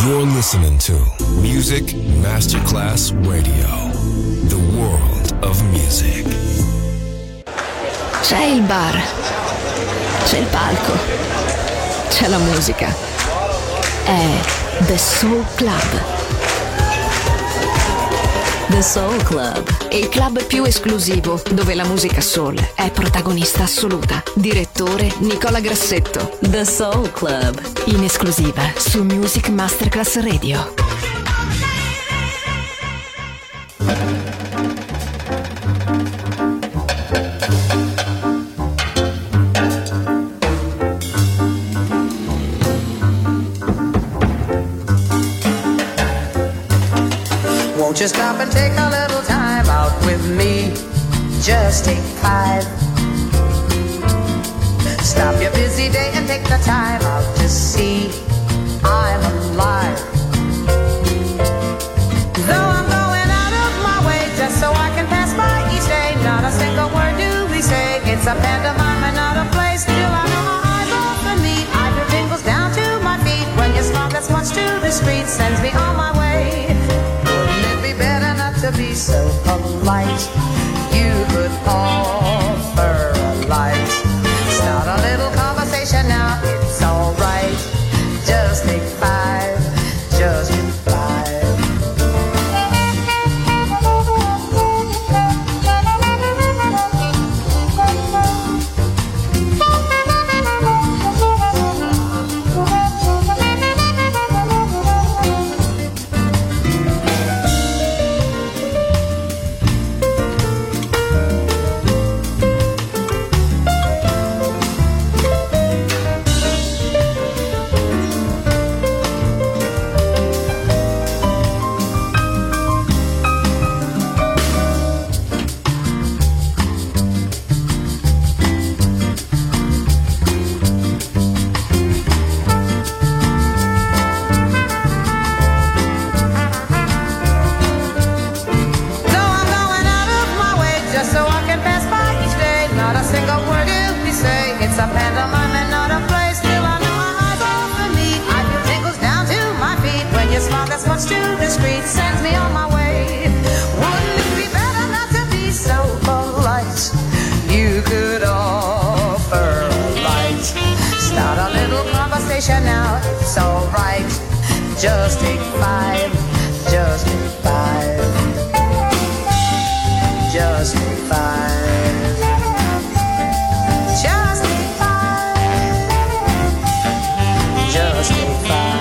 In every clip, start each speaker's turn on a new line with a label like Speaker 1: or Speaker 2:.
Speaker 1: You're listening to Music Masterclass Radio, the world of music.
Speaker 2: C'è il bar, c'è il palco, c'è la musica. È The Soul Club. The Soul Club, il club più esclusivo dove la musica soul è protagonista assoluta. Direttore Nicola Grassetto. The Soul Club, in esclusiva su Music Masterclass Radio.
Speaker 3: Won't you stop and take a little time out with me? Just take 5. Stop your busy day and take the time out to see I'm alive. Though I'm going out of my way just so I can pass by each day, not a single word do we say. It's a pantomime and not a play. Still I know my eyes off me. I hear tingles down to my feet when your smile that's much too discreet sends me on my way. To be so polite, you could offer a light. Start a little conversation now, it's alright. Just take 5, just take 5. Now it's alright. Just take 5. Just take 5. Just take 5. Just take 5. Just take 5.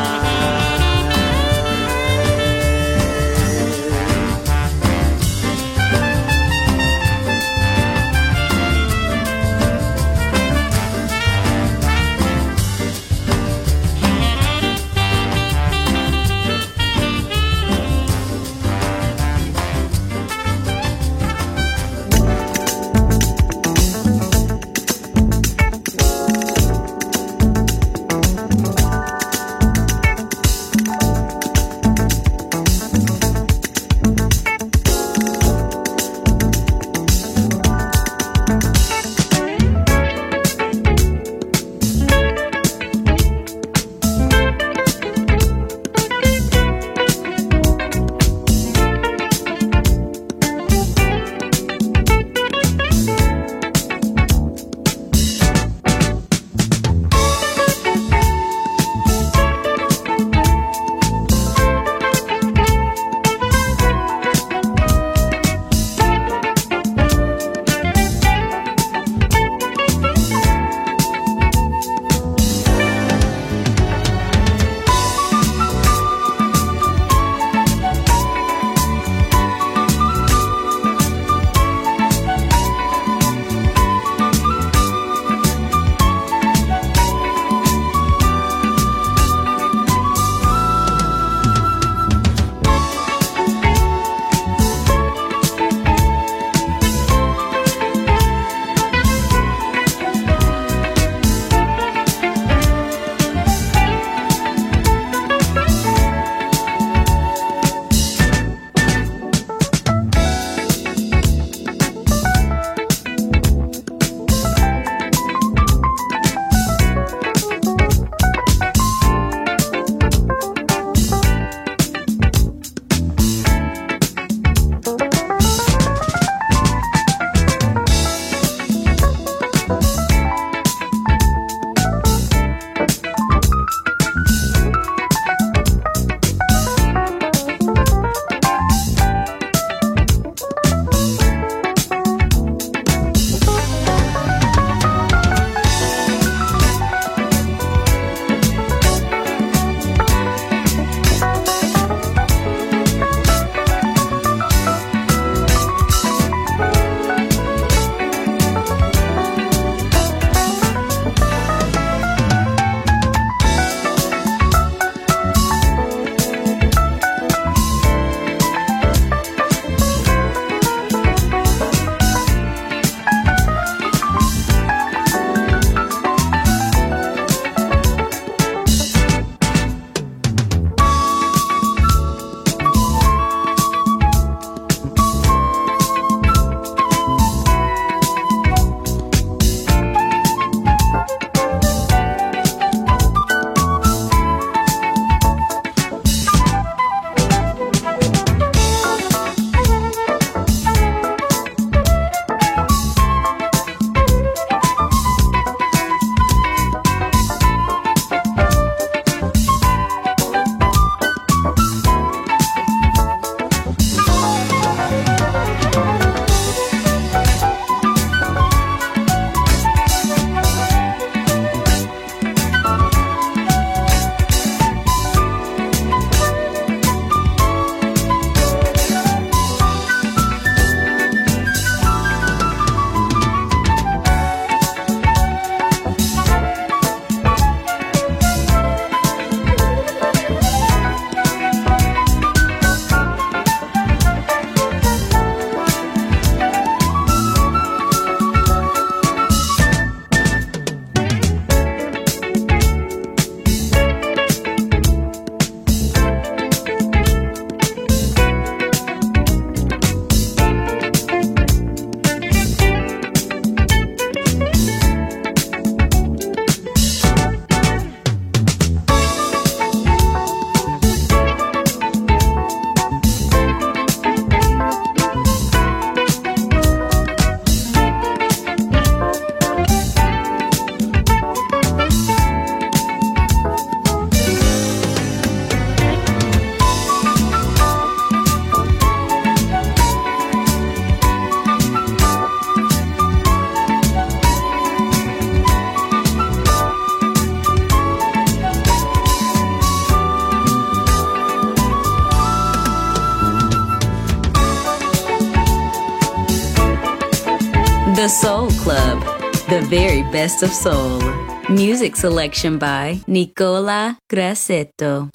Speaker 2: The Soul Club, the very best of soul. Music selection by Nicola Grassetto.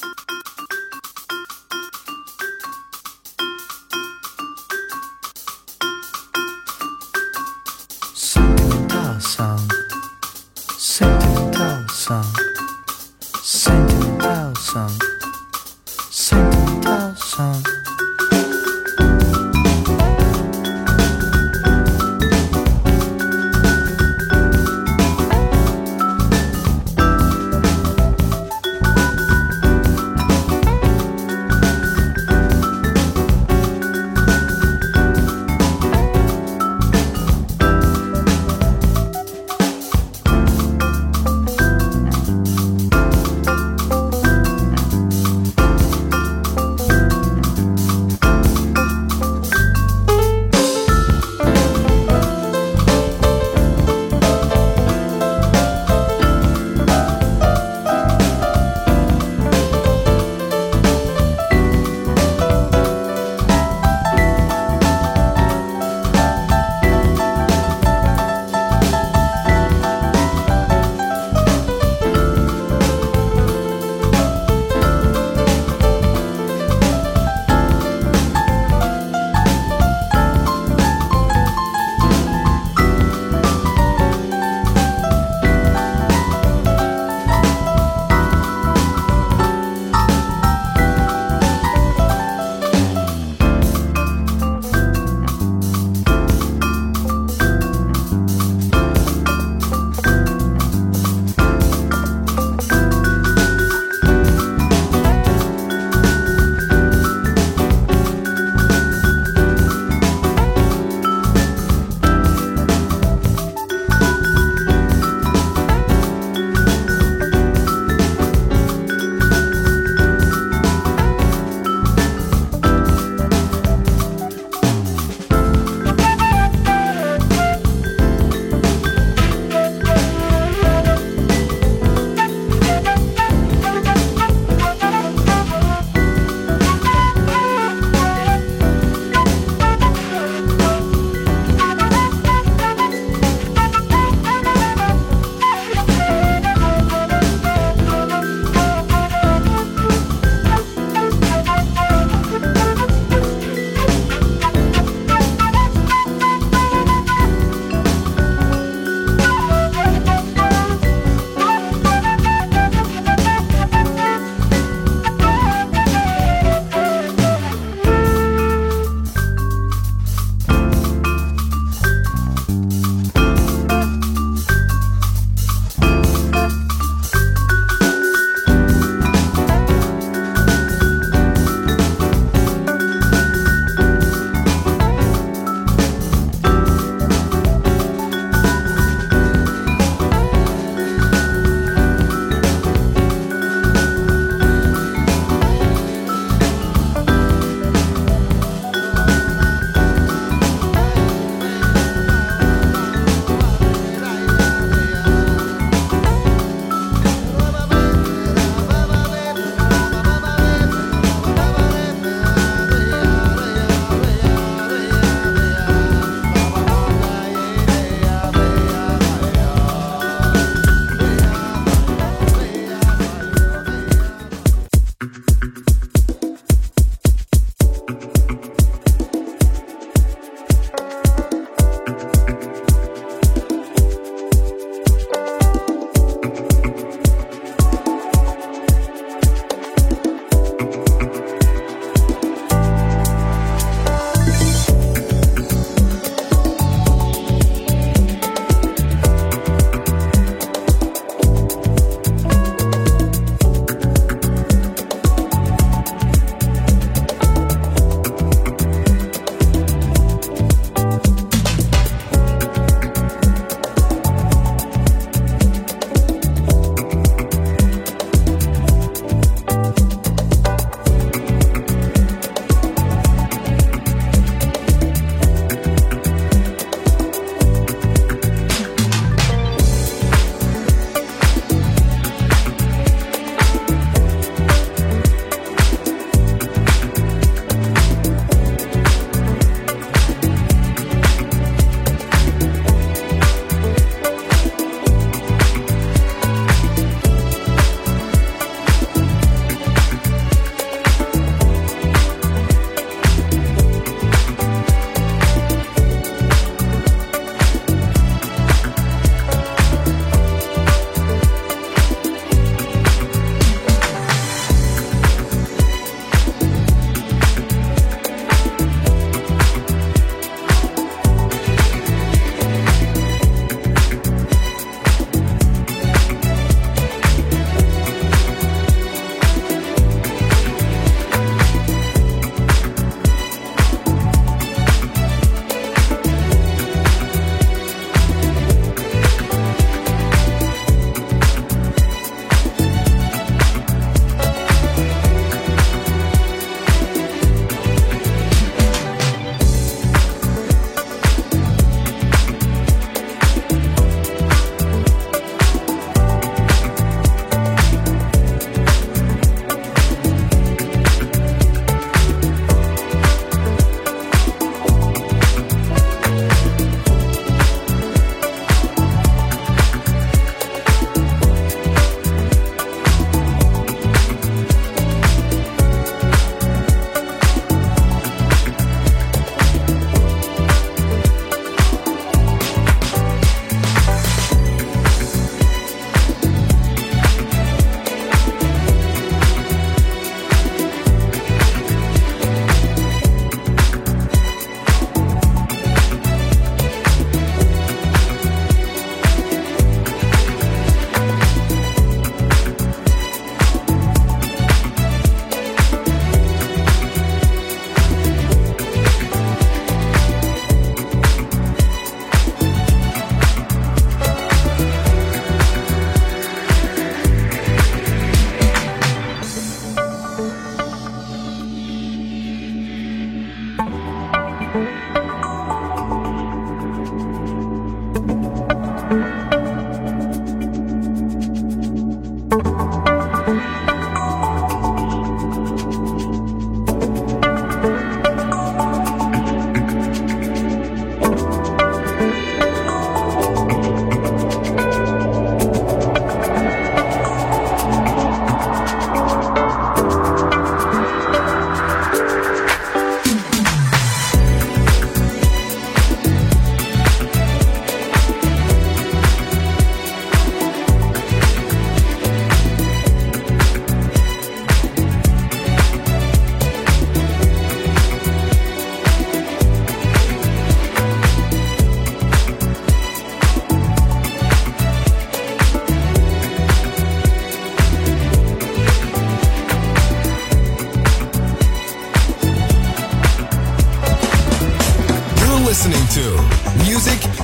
Speaker 4: Sentimental song, sentimental song, sentimental song, sentimental song.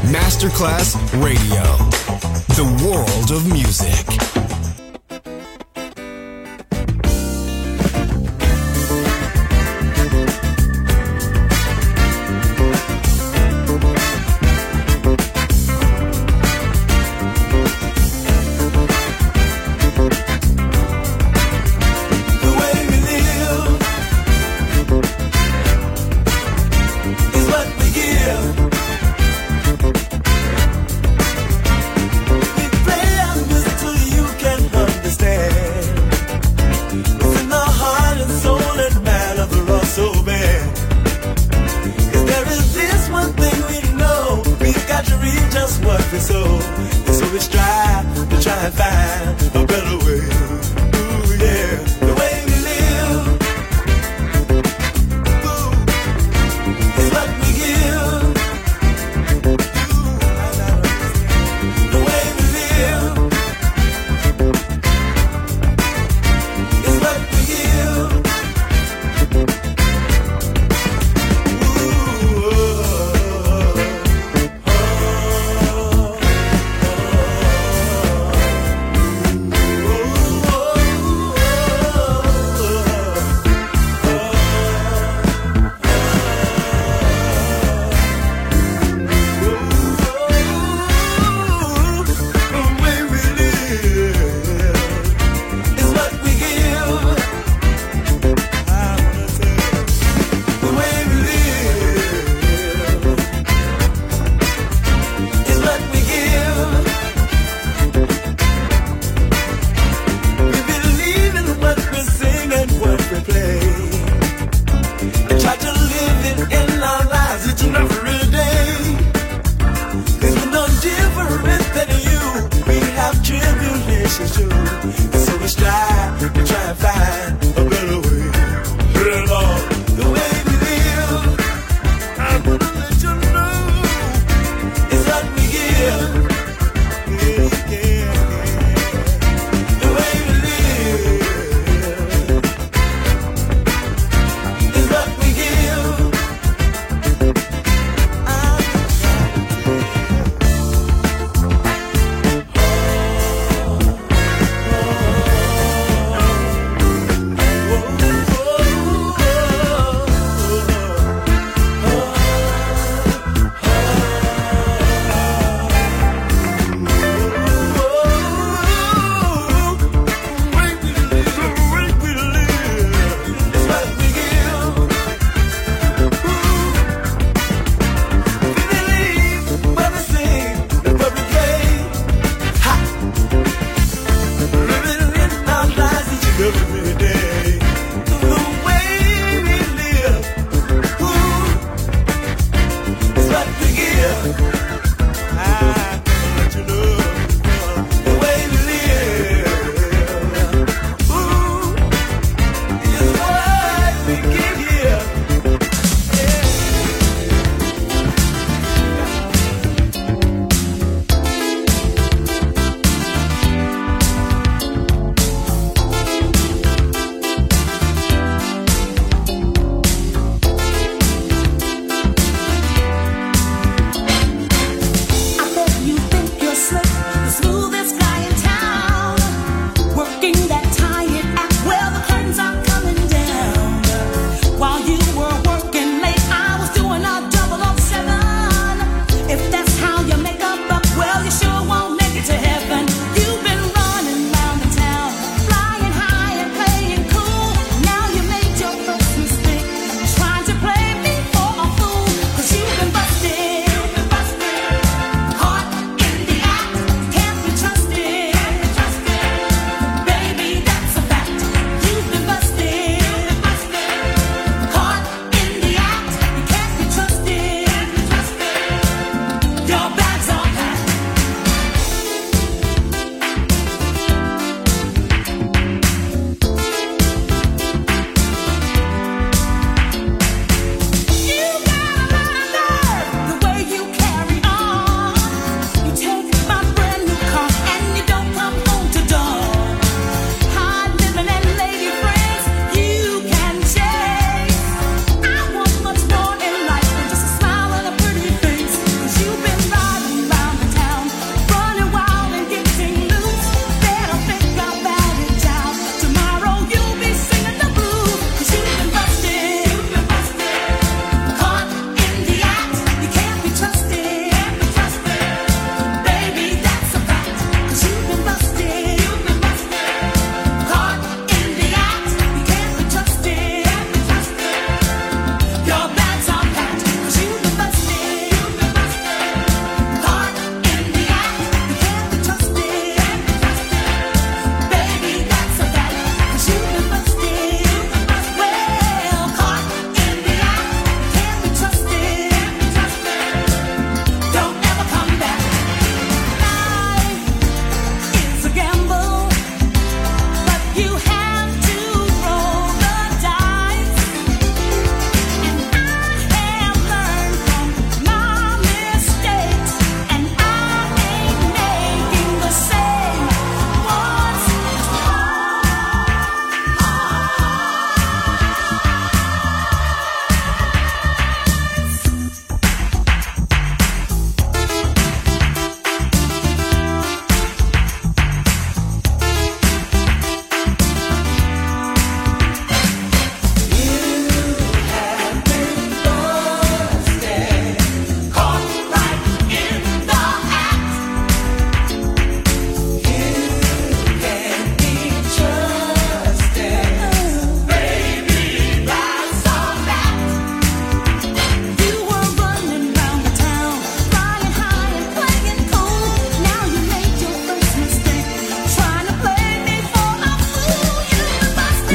Speaker 1: Masterclass Radio. The world of music.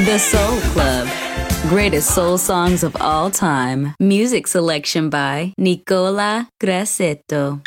Speaker 5: The Soul Club. Greatest soul songs of all time. Music selection by Nicola Grassetto.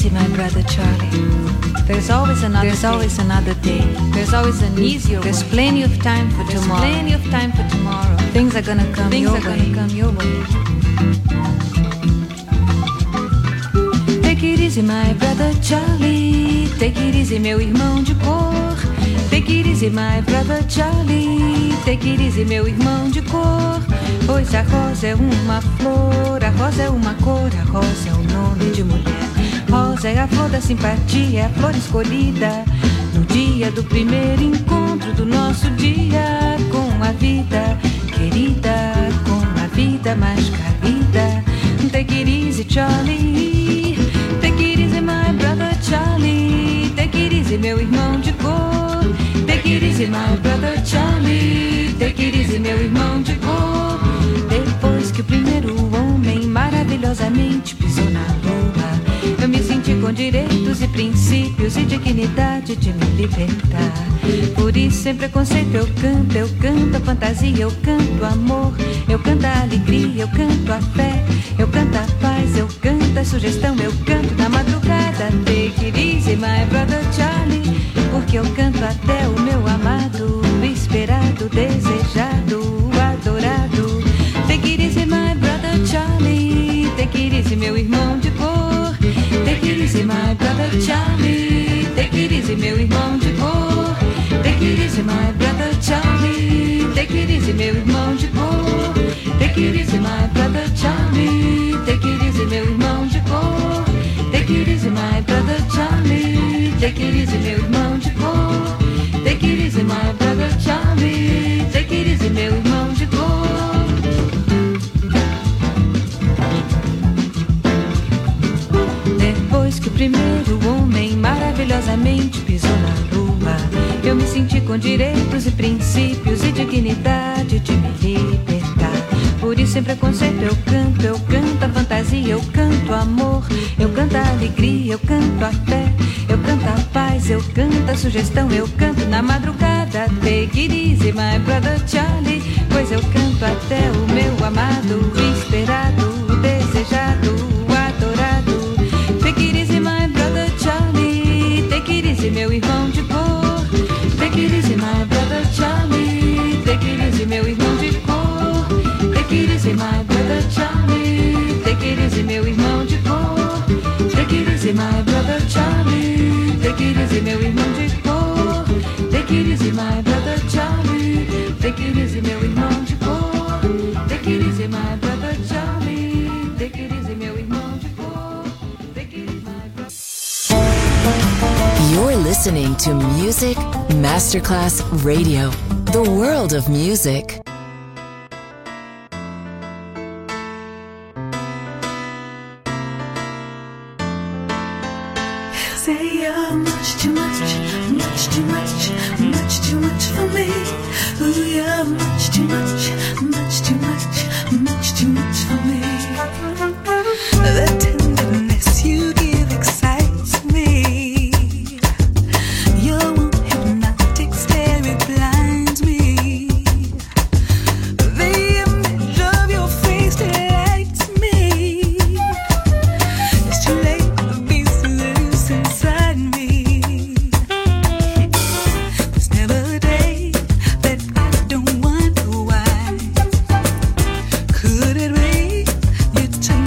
Speaker 6: easy, my brother Charlie. There's always another day. There's always an easier way. There's plenty of time for tomorrow. Things are gonna come your way. Take it easy, my brother Charlie. Take it easy, meu irmão de cor. Take it easy, my brother Charlie. Take it easy, meu irmão de cor. Pois a rosa é uma flor, a rosa é uma cor, a rosa é o nome de mulher. Rosa é a flor da simpatia, é a flor escolhida no dia do primeiro encontro do nosso dia com a vida querida, com a vida mais querida. Take it easy, Charlie. Take it easy, my brother Charlie. Take it easy, meu irmão de cor. Take it easy, my brother Charlie. Take it easy, meu irmão de cor. Depois que o primeiro homem maravilhosamente pisou na lua, eu me senti com direitos e princípios e dignidade de me libertar. Por isso, sem preconceito, eu canto a fantasia, eu canto o amor, eu canto a alegria, eu canto a fé, eu canto a paz, eu canto a sugestão, eu canto na madrugada. Take it easy, my brother Charlie, porque eu canto até o meu amado, esperado, desejado, adorado. Take it easy, my brother Charlie. Take it easy, meu irmão de cor. Take it easy, my brother Charlie. Take it easy, meu irmão de cor. Take it easy, my brother Charlie. Take it easy, meu irmão de cor. Take it easy, my brother Charlie. Take it easy, meu irmão de cor. Take it easy, my brother Charlie. Take it easy, meu irmão de cor. Take it easy, my brother Charlie. Take it easy, meu irmão de cor. Depois que o primeiro homem maravilhosamente pisou na lua, eu me senti com direitos e princípios e dignidade de me libertar. Por isso, sem preconceito, eu canto a fantasia, eu canto o amor, eu canto a alegria, eu canto a fé, eu canto a paz, eu canto a sugestão, eu canto na madrugada. Take it easy, my brother Charlie, pois eu canto até o meu amado, esperado, desejado, adorado. Take it easy, my brother Charlie. Take it easy, meu irmão de cor. Take it easy, my brother Charlie. Take it easy, meu irmão de cor. Take it easy, my brother Charlie. Take it easy, meu irmão de cor. Take it easy, my brother Charlie. Take it easy, meu irmão de cor. Take it easy, my brother Charlie. Take it easy, meu irmão de cor. Take it easy, my brother Charlie. Take it easy, meu irmão de cor. Take it easy, my brother.
Speaker 2: You're listening to Music Masterclass Radio, the world of music.
Speaker 7: Say you're much too much, much too much, much too much for me. Ooh, you're much too much, much too much, much too much for me. The tenderness you give excites me. Your warm hypnotic stare, it blinds me. The image of your face delights me. It's too late for being so loose inside me. There's never a day that I don't wonder why. Could it be you turn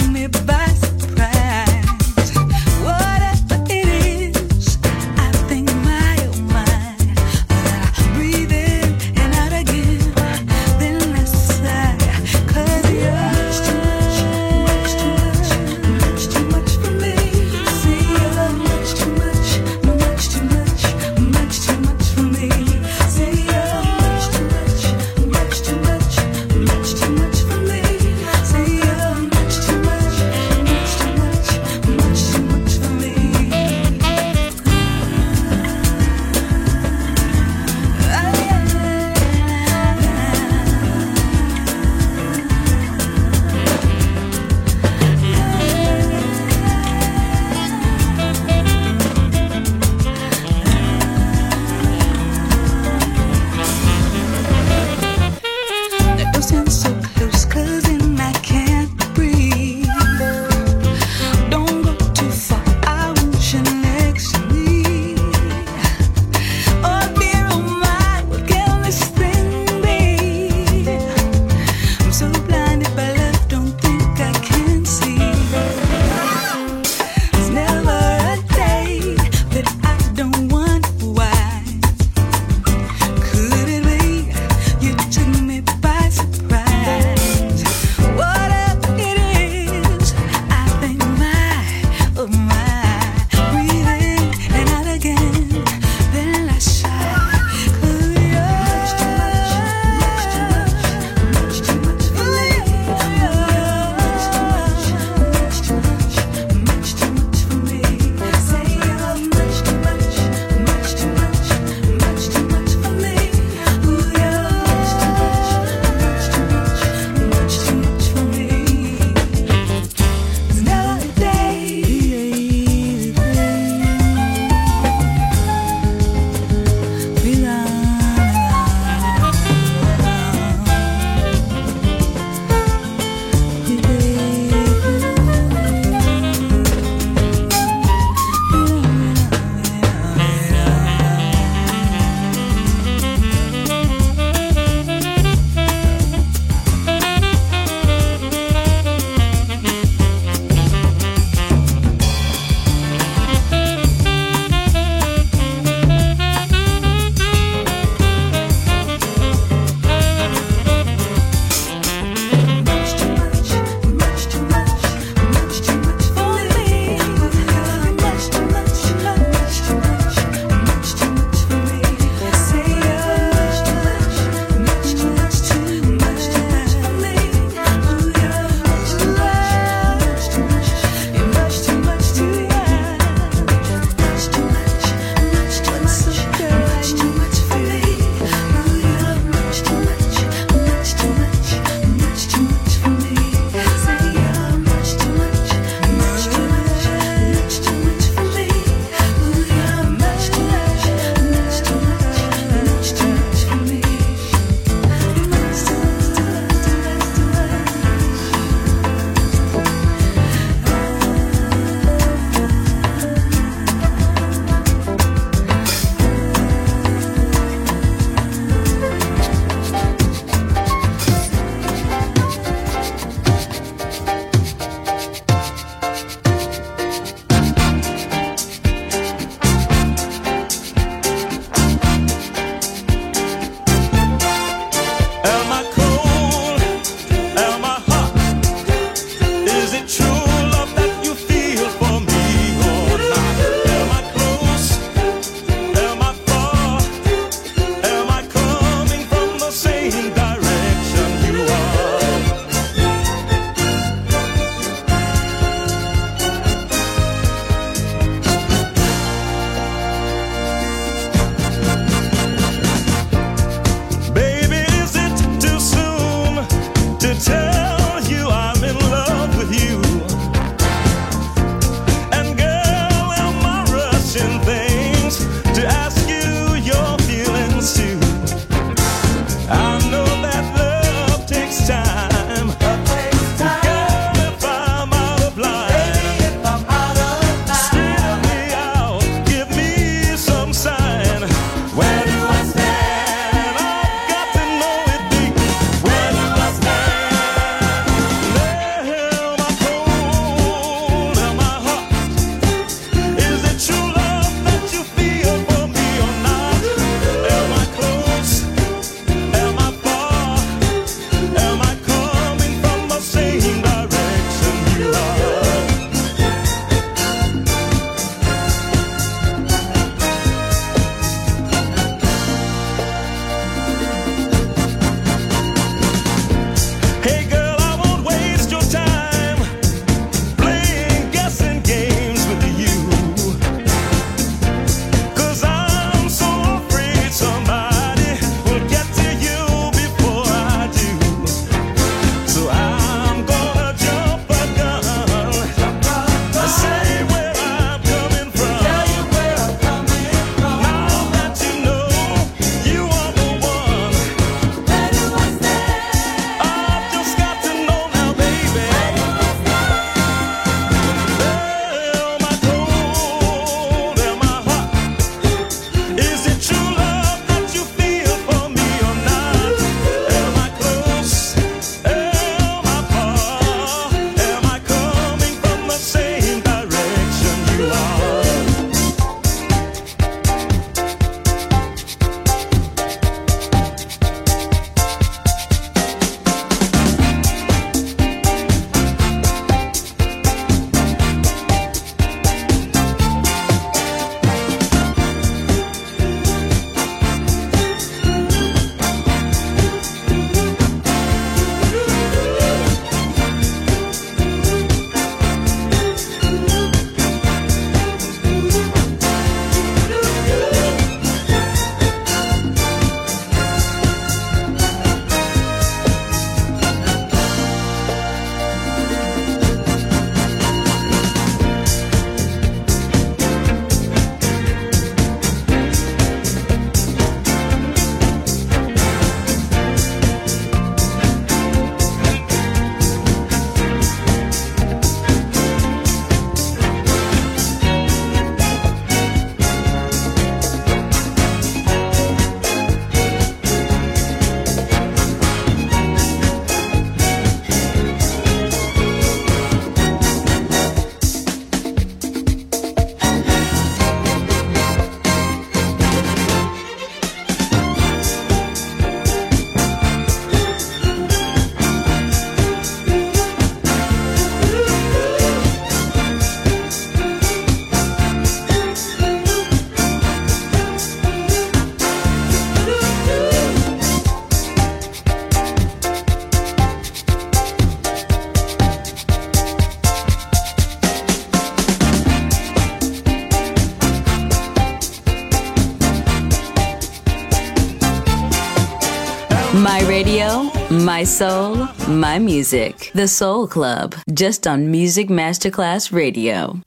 Speaker 5: radio, my soul, my music. The Soul Club, just on Music Masterclass Radio.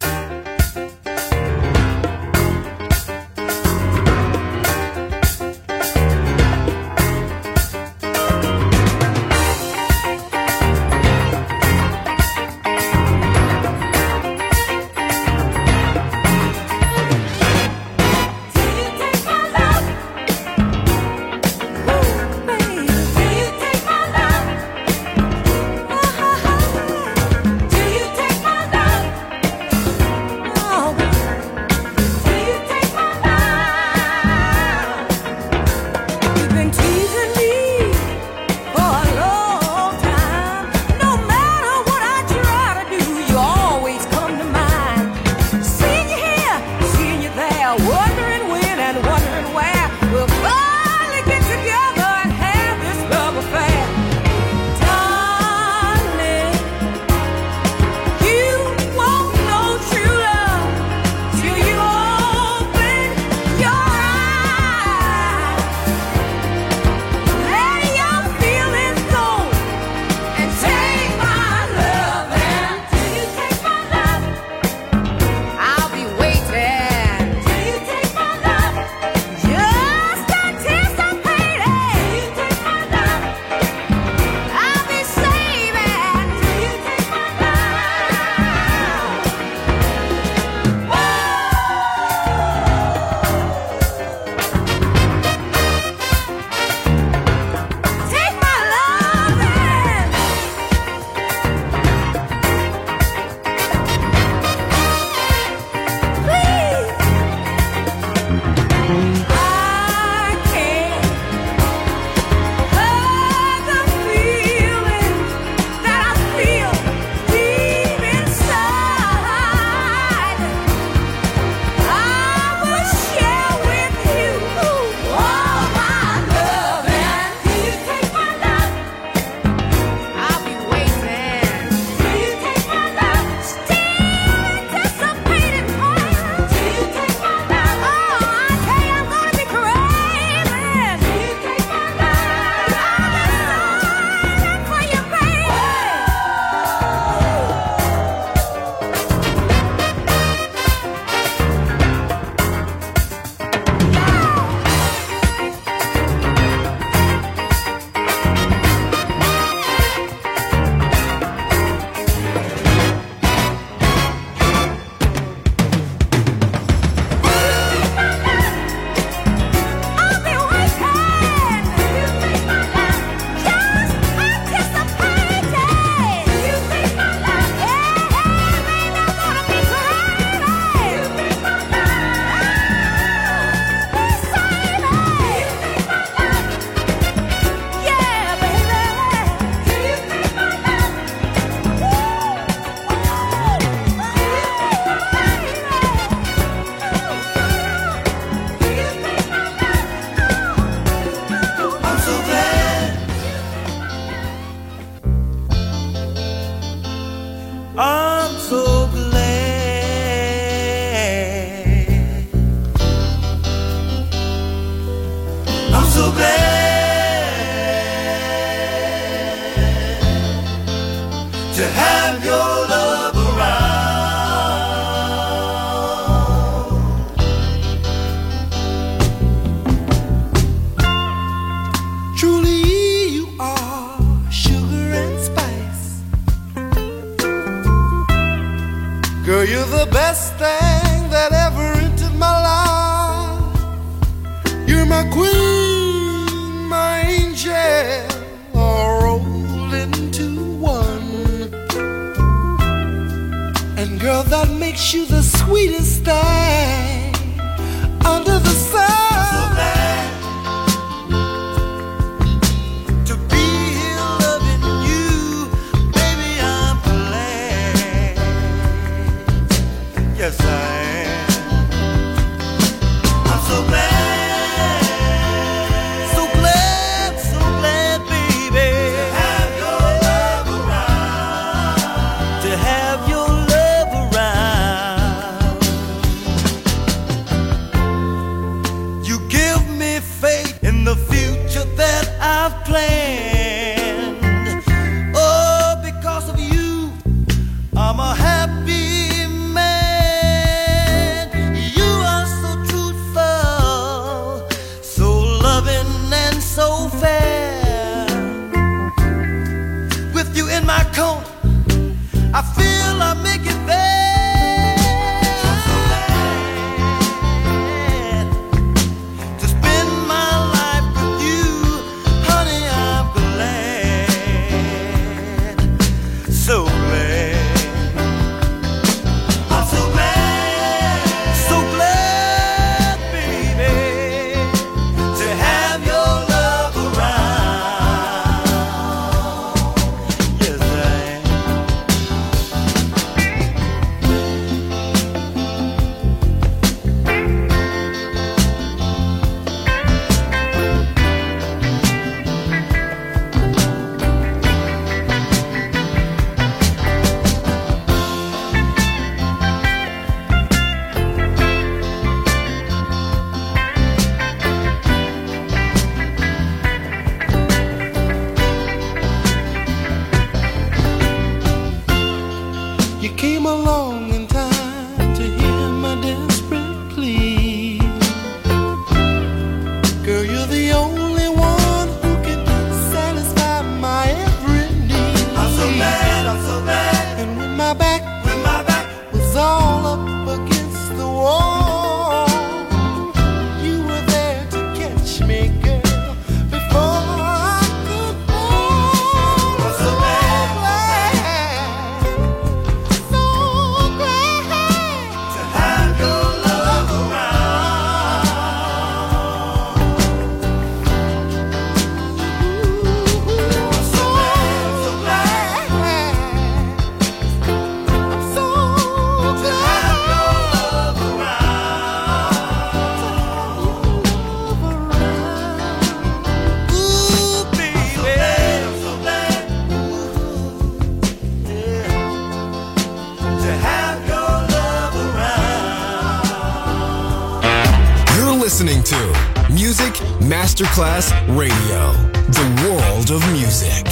Speaker 1: listening to Music Masterclass Radio, the world of music.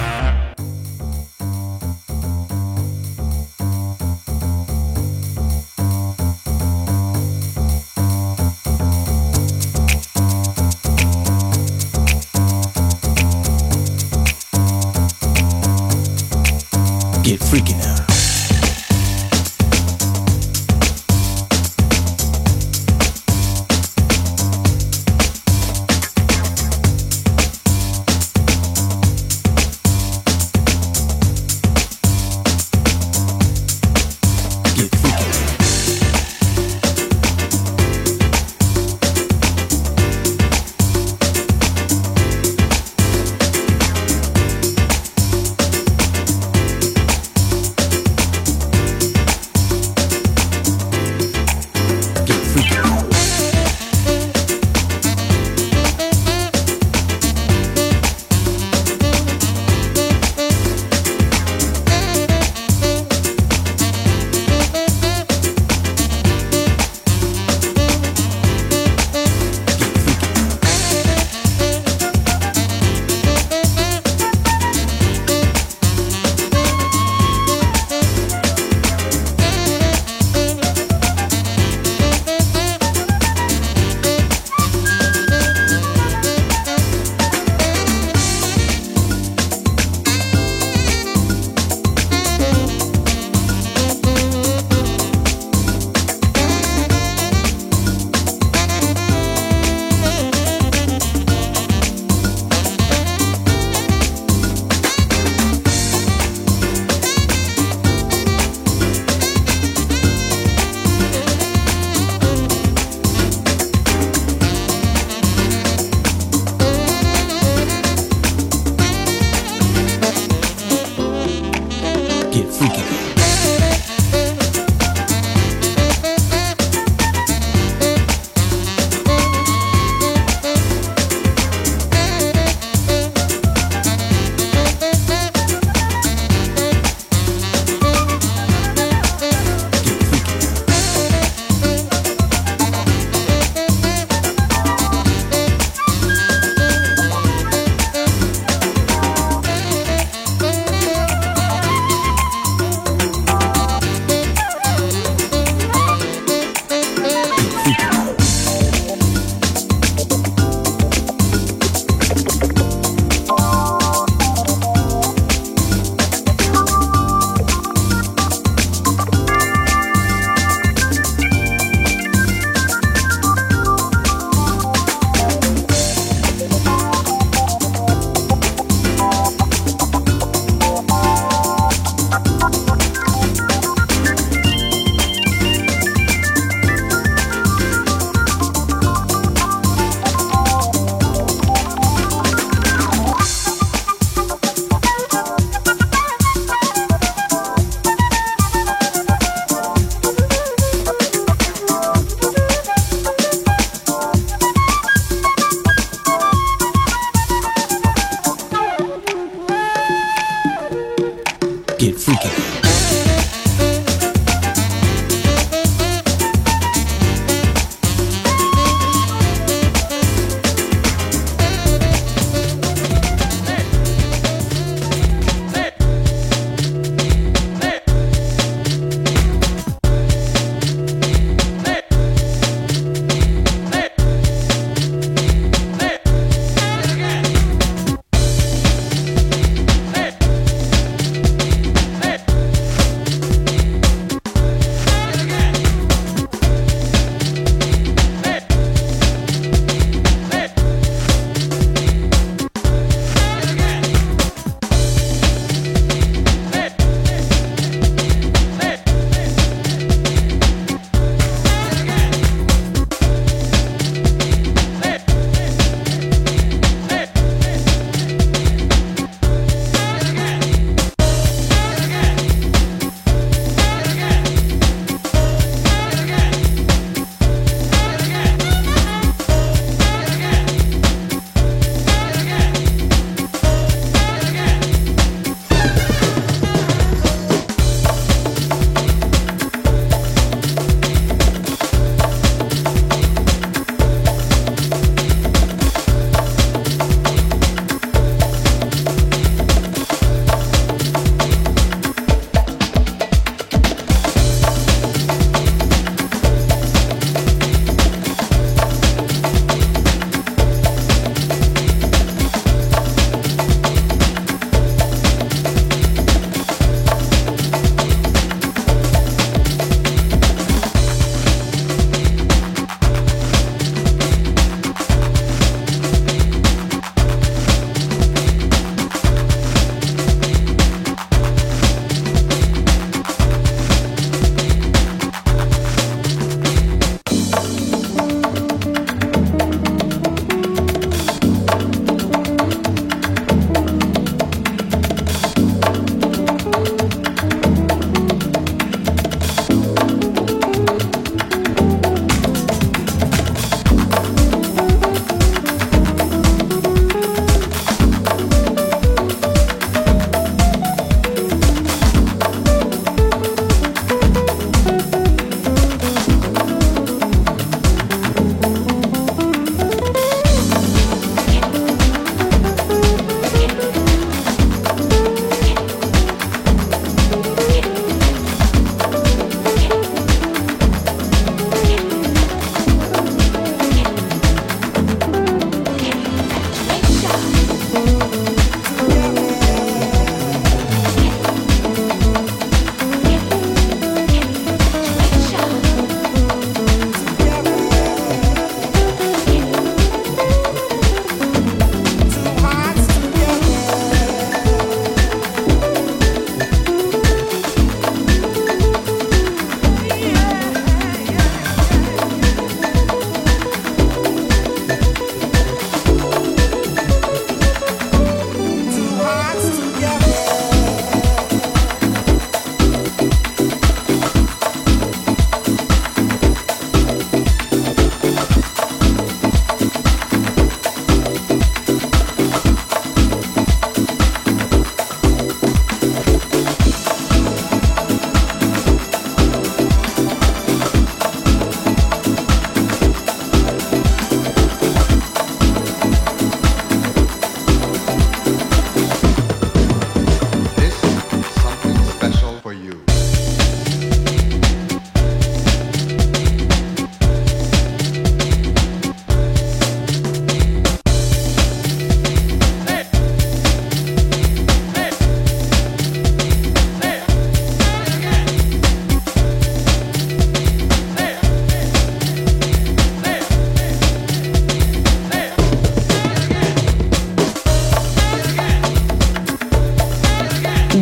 Speaker 4: Get freaky now.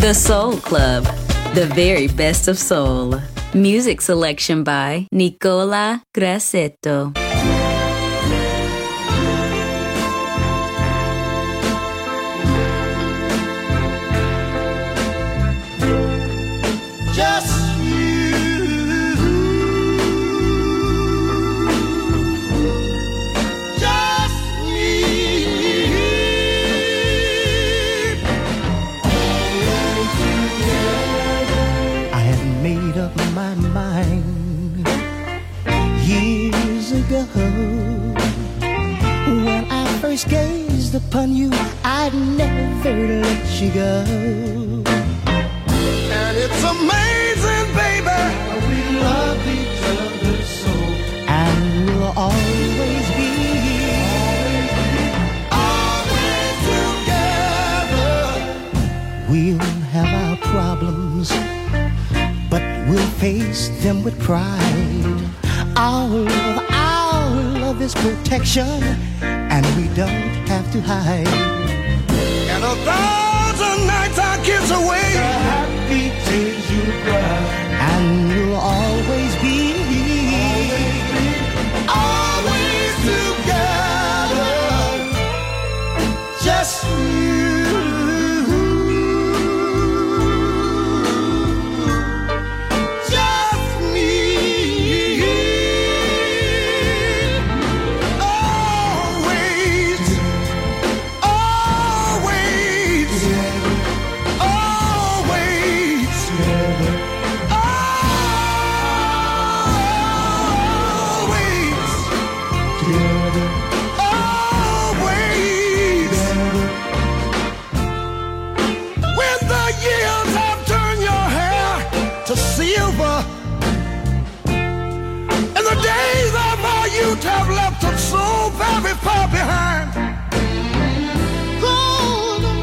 Speaker 5: The Soul Club, the very best of soul. Music selection by Nicola Grassetto.
Speaker 8: When I first gazed upon you, I'd never let you go.
Speaker 9: And it's amazing, baby, how we love each other so.
Speaker 8: And we'll always be
Speaker 9: together.
Speaker 8: We'll have our problems, but we'll face them with pride. Our love is protection, and we don't have to hide.
Speaker 9: And 1,000 nights our kids away, the happy tears you cry,
Speaker 8: and we'll always be
Speaker 9: together. Just you. Have left us so very far behind.
Speaker 7: Golden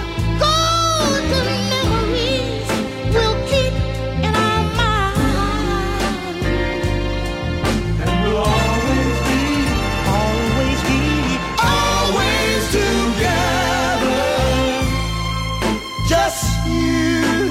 Speaker 7: memories we'll keep in our mind.
Speaker 9: And we'll always be together. Just you.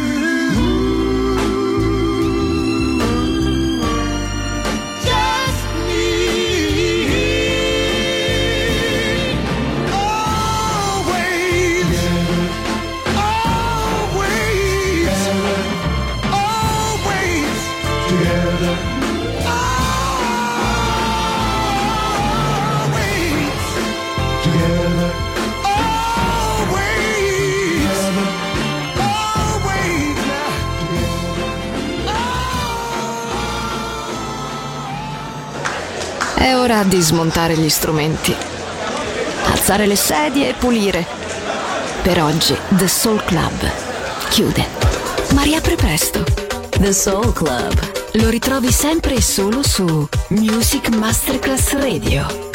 Speaker 2: È ora di smontare gli strumenti, alzare le sedie e pulire. Per oggi The Soul Club chiude, ma riapre presto. The Soul Club lo ritrovi sempre e solo su Music Masterclass Radio.